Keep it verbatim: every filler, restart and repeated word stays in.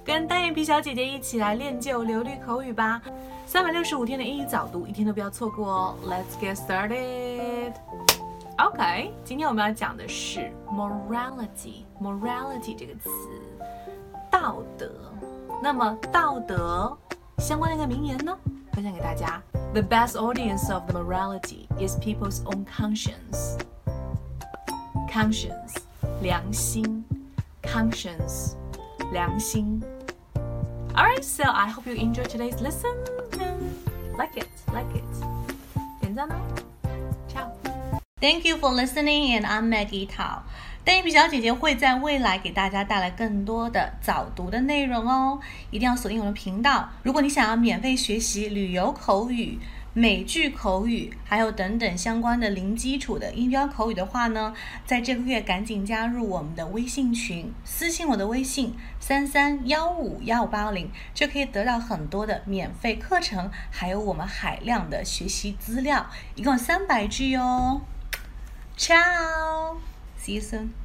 跟单眼皮小姐姐一起来练就流利口语吧。三百六十五天的英语早读，一天都不要错过哦。Let's get started. OK， 今天我们要讲的是 morality。morality 这个词，道德。那么道德相关的一个名言呢，分享给大家。The best audience of the morality is people's own conscience. Conscience， 良心。Conscience， 良心。Alright, so I hope you enjoy today's lesson and like it, like it. 点赞哦 Ciao. Thank you for listening, and I'm Maggie Tao. 单眼皮小姐姐会在未来给大家带来更多的早读的内容哦，一定要锁定我们的频道。如果你想要免费学习旅游口语、美剧口语，还有等等相关的零基础的音标口语的话呢，在这个月赶紧加入我们的微信群，私信我的微信三三一五一五八零，就可以得到很多的免费课程，还有我们海量的学习资料，一共三百句哦。Ciao, see you soon.